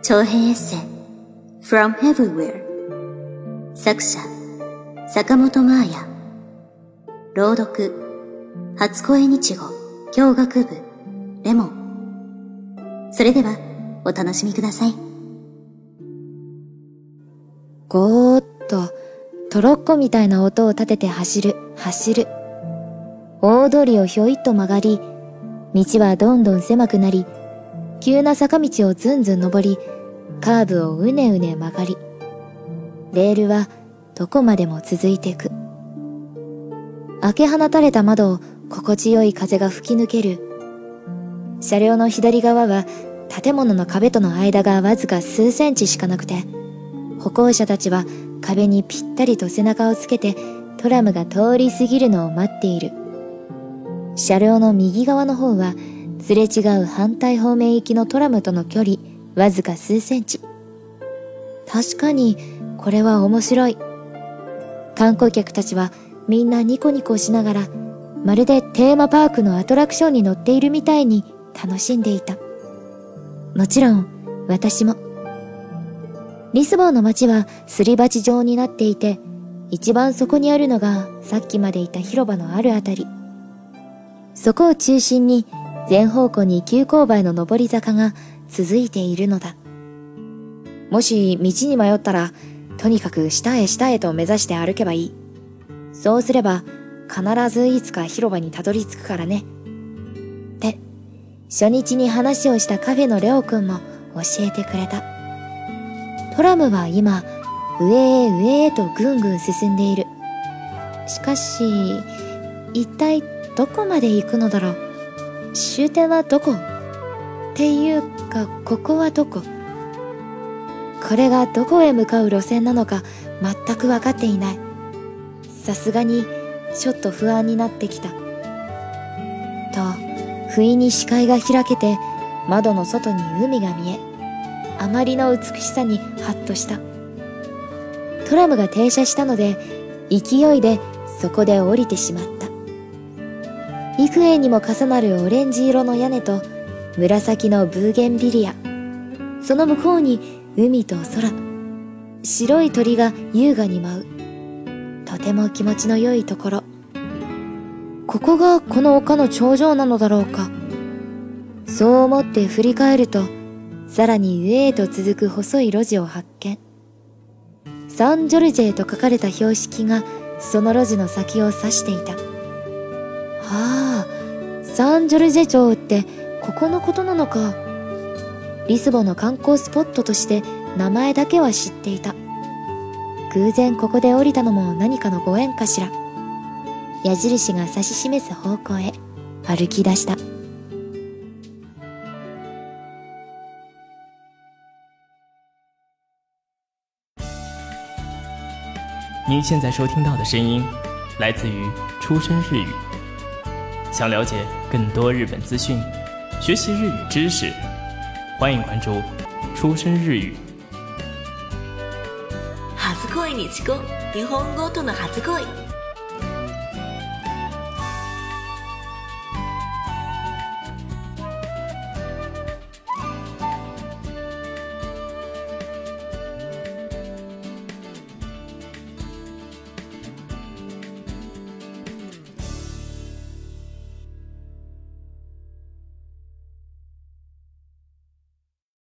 長編エッセイ From Everywhere 作者坂本真綾朗読初恋日語教学部レモン。それではお楽しみください。 ゴーッとトロッコみたいな音を立てて走る。大通りをひょいっと曲がり、道はどんどん狭くなり、急な坂道をずんずん登り、カーブをうねうね曲がり、レールはどこまでも続いていく。開け放たれた窓を心地よい風が吹き抜ける。車両の左側は建物の壁との間がわずか数センチしかなくて、歩行者たちは壁にぴったりと背中をつけてトラムが通り過ぎるのを待っている。車両の右側の方はすれ違う反対方面行きのトラムとの距離わずか数センチ。確かにこれは面白い。観光客たちはみんなニコニコしながら、まるでテーマパークのアトラクションに乗っているみたいに楽しんでいた。もちろん私も。リスボンの街はすり鉢状になっていて、一番そこにあるのがさっきまでいた広場のあるあたり。そこを中心に全方向に急勾配の上り坂が続いているのだ。もし道に迷ったら、とにかく下へと目指して歩けばいい。そうすれば必ずいつか広場にたどり着くからね。って、初日に話をしたカフェのレオくんも教えてくれた。トラムは今、上へとぐんぐん進んでいる。しかし、一体どこまで行くのだろう。終点はどこ？っていうか、ここはどこ？これがどこへ向かう路線なのか全く分かっていない。さすがにちょっと不安になってきた。と、不意に視界が開けて窓の外に海が見え、あまりの美しさにハッとした。トラムが停車したので、勢いでそこで降りてしまった。幾重にも重なるオレンジ色の屋根と紫のブーゲンビリア。その向こうに海と空。白い鳥が優雅に舞う。とても気持ちの良いところ。ここがこの丘の頂上なのだろうか。そう思って振り返ると、さらに上へと続く細い路地を発見。サンジョルジェと書かれた標識がその路地の先を指していた。ああ、サンジョルジェ町ってここのことなのか。リスボンの観光スポットとして名前だけは知っていた。偶然ここで降りたのも何かのご縁かしら。矢印が指し示す方向へ歩き出した。 您现在收听到的声音来自于出身日语。想了解更多日本资讯，学习日语知识，欢迎关注出身日语。 初恋日語、日本語との初恋。